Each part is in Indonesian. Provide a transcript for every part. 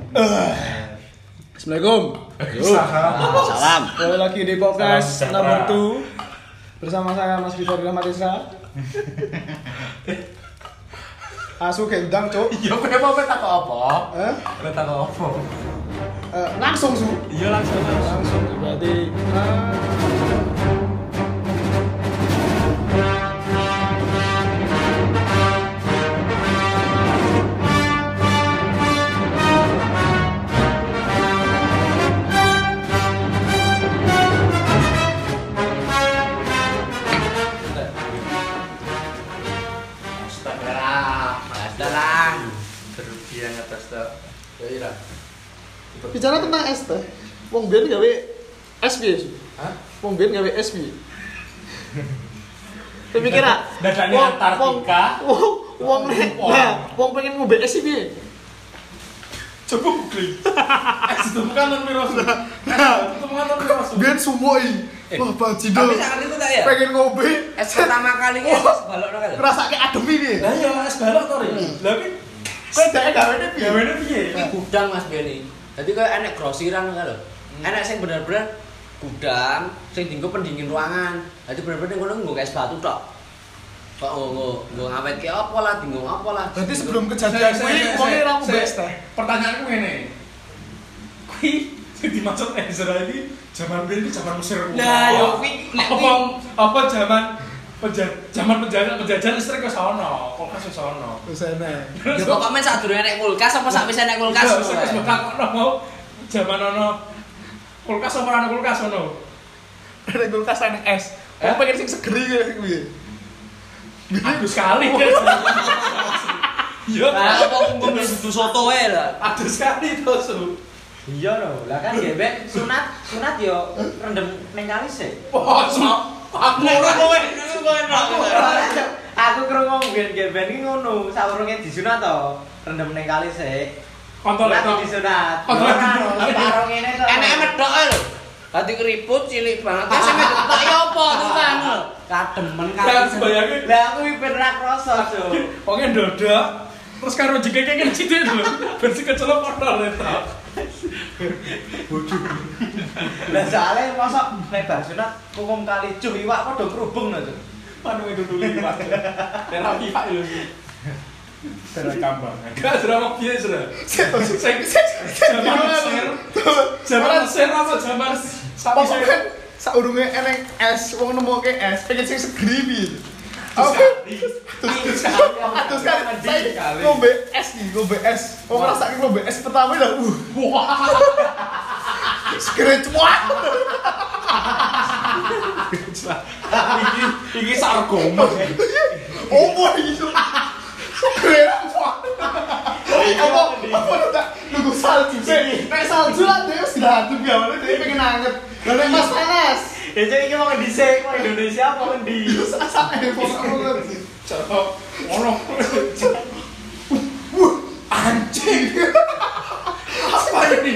Assalamualaikum. Salam. Kembali lagi di podcast nomor 2 bersama saya Mas Vitor Rahmatisra. Asu gendang, Cuk. Iya, kowe mau tak apa? Eh? Tak apa? Langsung, Su. Iya, langsung. Berarti Berlebihan atas tak. Ya ira. bicara tentang es teh. Wong biyen gawe es piye, Su? Hah? Wong biyen gawe es piye? Tapi kira Dadane Antartika. Wong pengen ngombe es iki piye? Coba googling. Es itu bukan non miros. Itu bukan non miros. Biyen sumoi. Wah, bajido. Tapi saat itu tak ya? Pengen ngombe Es pertama kali es balok no kan? ngrasake adem piye? Lah ya es balok to, Ri. Lah ki Kowe dhek gawene piye? gawene piye? Ini gudang Mas Beni. Jadi kayak enek grosiran kan lho. Enek sing bener-bener gudang sing dienggo pendingin ruangan. Jadi bener-bener ngono nggo es batu tok. Kok nggo ngawetke apa lah, dienggo apa lah. Berarti sebelum kejadian kuwi wonge ra ngombe es teh. Pertanyaanku ngene. Kuwi sing dimaksud Ezra iki zaman biyen iki zaman Mesir. Nah, yo kuwi nek apa zaman penjajahan listrik wis ono, kulkas wis ono. Wis enek. ya pokoknya sak durunge nek kulkas apa sak wis enek kulkas. Wis bakal mau zaman ono kulkas apa ono kulkas ono. Nek kulkas enek es. Wong pengen sing segeri kuwi. Aduh sekali. Iya. Lah apa ngombe dudu soto wae lah. Aduh sekali to, Su. Iya lho, lah kan gebek sunat yo rendem ning kali sih. Oh, aku ora kowe. Aku krungu mbiyen gebek iki ngono, saurunge disunat to, rendem ning kali sih. Kontol Lagi itu. disunat. Kontol itu. Karo ngene to. Enek medhok lho. Dadi keriput cilik banget. Sing medhok tok ya apa tuh kan. Kademen kan. Lah bayangin. Lah aku iki ben ra krasa, Jo. Wonge ndodok. Terus karo jekeke kene sithik lho. Ben sing kecelok kontol itu. Lah soalnya mosok nek bar sunat hukum kali cuh iwak padha kerubung lho, Jo. Manu itu dulu Mas. Terapi Pak lho iki. Terekam banget. Gak drama piye, Sra? Zaman Mesir apa zaman sapi Pokoknya saurunge enek es, wong nemoke es, pengen sing segeri piye. Oke. Terus kan saya ngombe es nih, ngombe es. Wong ngrasake ngombe es pertama lah. Wah. Segeri cuak. Iki sargoma. Oh boy itu. Keren cuak. Apa udah nunggu salju sih? Nek salju lah dia sudah adem ya, dia pengen anget. Lah nek mas panas. Ya jadi iki mau dhisik kok Indonesia apa endi? Sasake pokoknya. Coba ono. Anjing. Apa ini?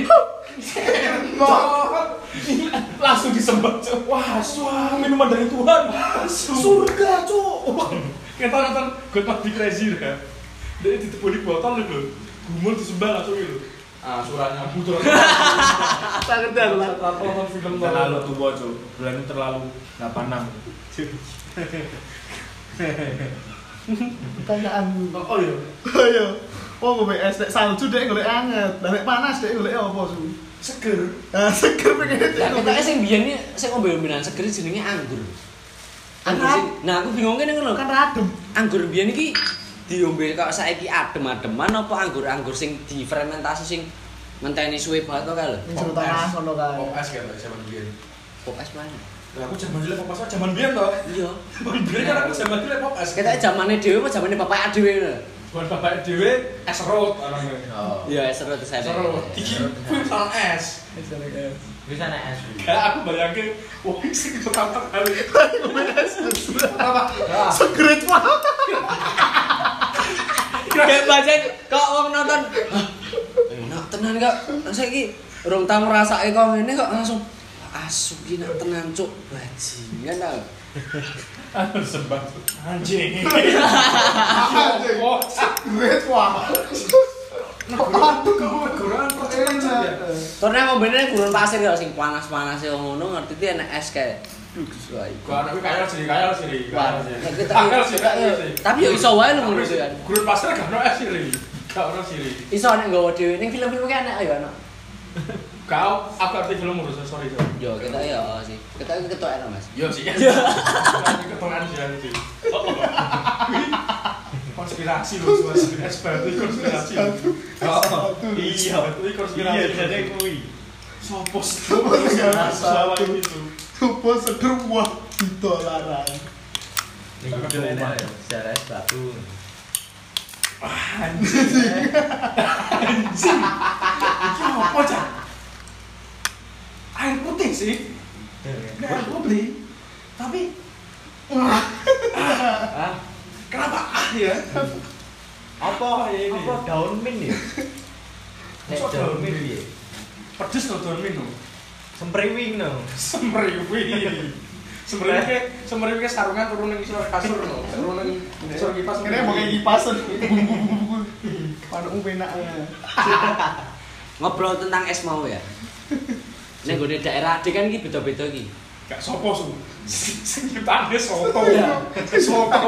Langsung disembah. Wah, minuman dari Tuhan. Surga, Cuk. Kita nonton God of the Crazy ya. Dia ditebuli botol lho. Gumul disembah langsung itu. Ah, suratnya putar. Sangat dalam. Nonton film terlalu tua, Cuk. Bulan ini terlalu 86. Pertanyaanmu. Oh iya. Ayo. Oh, ngombe es nek salju dek golek anget. Lah nek panas dek golek apa, Su? Seger. Ah, seger pengen Lah ketake sing biyen iki sing ombe-ombenan seger jenenge anggur. Anggur sing nah aku bingung kene ngono. kan radem. Anggur biyen iki diombe kok saiki adem-ademan apa anggur-anggur sing difermentasi sing ngenteni suwe banget to kae lho. Ning jero tanah ngono kae. Pop es kan zaman biyen. Pop es mana? Lah aku zaman dulu pop es zaman biyen to. Iya. Zaman biyen kan aku zaman dulu pop es. Ketake zamane dhewe apa zamane bapak dhewe lho. Bukan bapak dhewe es serut orangnya. Oh. Iya, seru tuh saya. Serut. Iki kuwi salah es. Bisa nek es. Kayak aku bayangke wong sing pertama kali. Apa? Seger cuak. Kayak baca kok wong nonton. Enak tenan kok. Saiki urung tau ngrasake kok ngene kok langsung asu ki nak tenan cuk bajingan ta. Anu sembah anjing. Anjing. Oh, Great wah. Negoran percetakan ya. Turne ngombene gurun pasir ya sing panas-panas ya ngono ngerti ti enek es kae. Duh, suai. Gua anak kaya sih. Tapi yo iso wae lho ngono kan. Gurun pasir gak ono es sih. Gak ono sih. Iso nek nggawa dhewe ning film-film ki enek ayo ana. Kau aku arti film urus sorry. Yo kita ya sih. Kita ketok enak Mas. Yo sih. Ketongan sih. Konspirasi lho suasana expert itu konspirasi. Iya, itu konspirasi. Iya, jadi kuwi. Sopo sama itu. Sopo sederwah ditolaran. Ning kudu enak ya, secara es batu. Anjing. Iki apa, Cak? Air putih sih. Air putih. Tapi kenapa ya? Apa ini? Apa daun mint ya? Masuk daun mint ya? Pedes loh daun mint loh. Sempriwing no. Semeriwing ke sarungan turun ning kasur loh. Turun ning kasur kipas. Kene mau kayak kipasan. Panukmu penak. Ngobrol tentang es mau ya. Ning gone daerah Ade kan iki beda-beda iki. Gak sopo su. Sing ditane soto. Soto.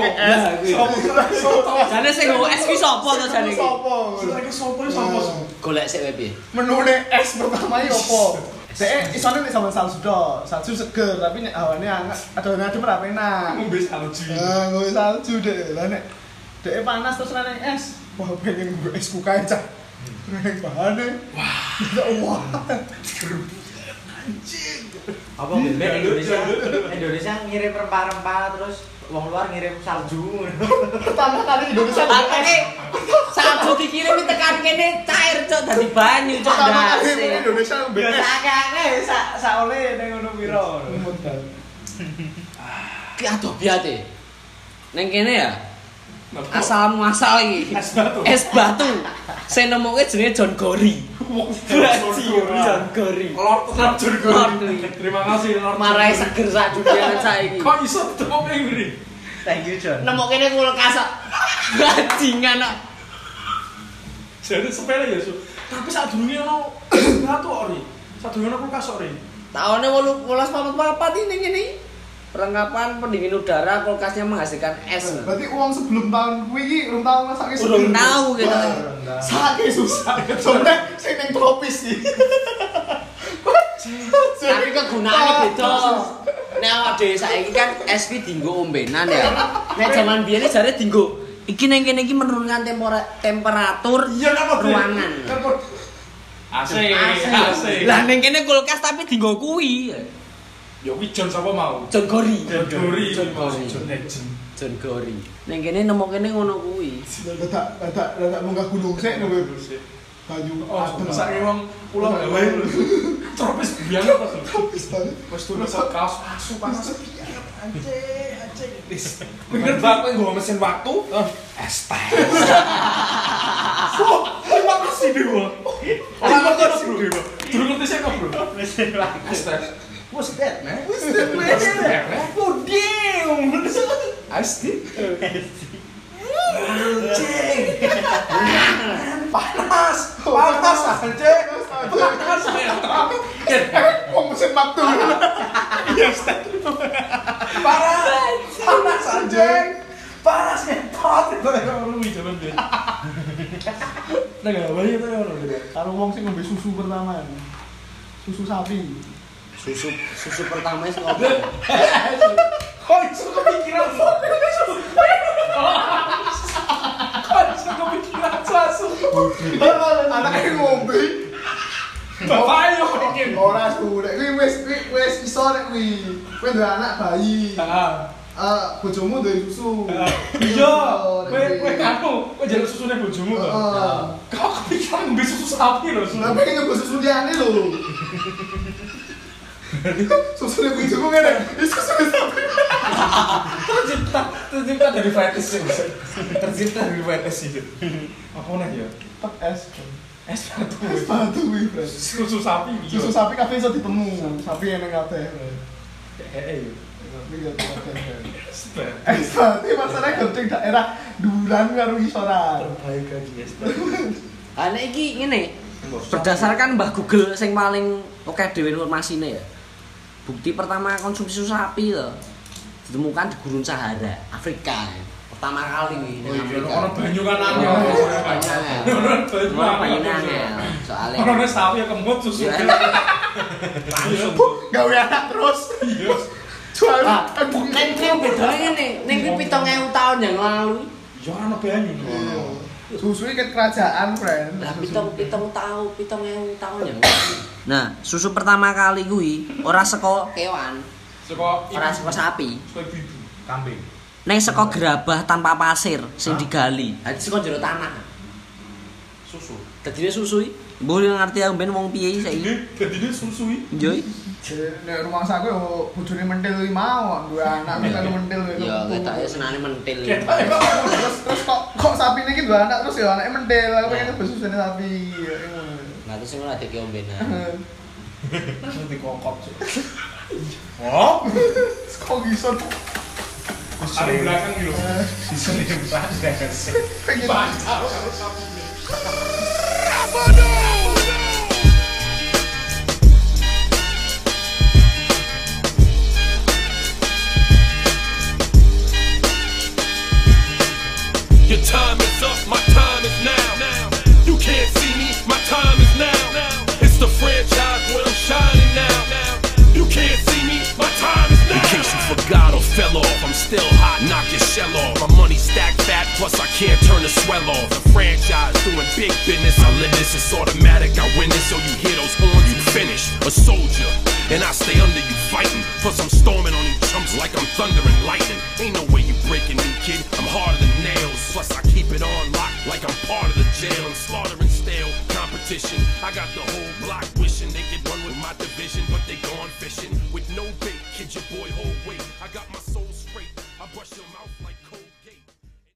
Jane sing nggo es ki sapa to jane iki? Sopo? Sopo su. Golek sik wae piye? Menune es pertama iki opo? Dek isone nek sama salju tok. Salju seger tapi nek hawane anget, adone ora enak. Ngombe salju. Ngombe salju dek. Lah nek dek panas terus nang es. Wah pengen nggo es kukae cah. Nang bahane. Wah. Anjing. Apa bebek Indonesia ngirim rempah-rempah terus wong luar ngirim salju. Pertama kali Indonesia Makane salju dikirim tekan kene cair cok dadi banyu cok pertama kali ndas. Indonesia Ya BS. sakake sak ole ning ngono pira. Ki adoh biate. Ning kene ya asal muasal iki. Es batu. Sing nemuke jenenge John Gori. John Gori. Lord John Gori. Terima kasih Lord. Marai seger sak dunia saiki. Kok iso ketemu ngene? Thank you John. Nemu kene kulkas kok. Bajingan kok. Jadi sepele ya, Su. Tapi sadurunge ono batu ori. Sadurunge ono kulkas ori. Tahunnya 1844 ini gini. Perlengkapan pendingin udara kulkasnya menghasilkan es. Berarti uang sebelum tahun kuwi iki urung tau masake Urung tahu gitu. Saking susah. Soalnya sing ning tropis iki. Tapi kegunaannya beda. Nek awak dhewe saiki kan es ki dienggo ombenan ya. Nek jaman biyen jare dienggo iki ning kene iki menurunkan temperatur ruangan. AC. Lah ning kene kulkas tapi dienggo kuwi. Ya kuwi John sapa mau? John Gori. John Gori. John Gori. Ning kene nemu kene ngono kuwi. Dadak munggah gunung sik nang banyu adem Sak wong pulau gawe lho. Tropis biang apa tuh? tropis banget. Wes turun sak kaos asu panas. Anjing. Bener banget nggo mesin waktu. Es teh. Terima kasih Dewa. Terima kasih Dewa. Durung ngerti sik kok, Bro. Mesin waktu. Es teh. What's that, man? Puding. Asti. Anjing. Panas anjing. Panas ya. Wong mesin waktu. Yes. Panas anjing. Panas ngetot. Lu jaman dia. Nah, enggak banyak tuh orang gitu. Karo wong sing ngombe susu pertama. Susu sapi. Susu pertama sing ngobrol. Kok iso kepikiran kok? Kok iso kepikiran susu? Anake ngombe. Bapak yo mikir. Ora su, nek kuwi wis iso nek kuwi. Kowe duwe anak bayi. Heeh. Bojomu duwe susu. Iya, kowe kanu, kowe jaluk susune bojomu to. Kok kepikiran ngombe susu sapi lho, Su. Lah pengen nyoba susu liyane lho. Susu nek bojomu ngene, susu sapi. Tercipta dari fetis sih. Tercipta dari fetis sih. Apa nih ya? Tek es. Es batu. Es batu kuwi, Bro. Susu sapi. Susu sapi kabeh iso ditemu. Sapi eneng kabeh. Eh. Tapi ya kabeh. Es batu masalahnya genting daerah Duran karo isoran. Terbaik lagi es batu. Nek iki ngene. Berdasarkan Mbah Google sing paling oke dhewe informasinya ya. Bukti pertama konsumsi susu sapi lho. Ditemukan di Gurun Sahara, Afrika. Pertama kali nih di Afrika. Ono banyu kan angel. Ono banyu angel. Soale ono sapi ya kemut susu. langsung gawe anak terus. Iya. Jual Neng bedane ngene, ning kuwi 7.000 tahun yang lalu. Ya ono banyu. susu iki kerajaan, friend. Lah 7.000 tahun yang lalu. Nah, susu pertama kali kuwi ora saka kewan, ora saka sapi. Saka bibi, kambing. Neng saka gerabah tanpa pasir sing digali. Dadi saka jero tanah. Susu. Dadine susu iki. Mbok ngerti aku ben wong piye saiki. Dadine susu iki. Yo. Nek rumah saku yo bojone mentil iki mau, dua anak terus mentil iki. Ya ketoke senane mentil. Terus kok sapine iki dua anak terus ya anake mentil. Aku pengen nyoba susune sapi. Nah terus ngono adek ki ombenan. Langsung dikokop. Oh, Kok bisa? ada belakang gitu. Sisine banget. Pengen Bancau karo sapi. Your time is up, my time is now. You can't see me, my time is now. It's the franchise where I'm shining now. You can't see me, my time is now. In case you forgot or fell off, I'm still hot, knock your shell off. My money stacked fat, plus I can't turn the swell off. The franchise doing big business, I live this, it's automatic, I win this. So you hear those horns, you finish. A soldier, and I stay under you fighting. Plus I'm storming on you chumps like I'm thunder and lightning. Ain't no way you breaking me, kid, I'm harder than nails. Plus I keep it on lock like I'm part of the jail. I'm slaughtering stale competition. I got the whole block wishing they could run with my division, but they gone fishing with no bait. Kid, your boy hold weight. I got my soul straight. I brush your mouth.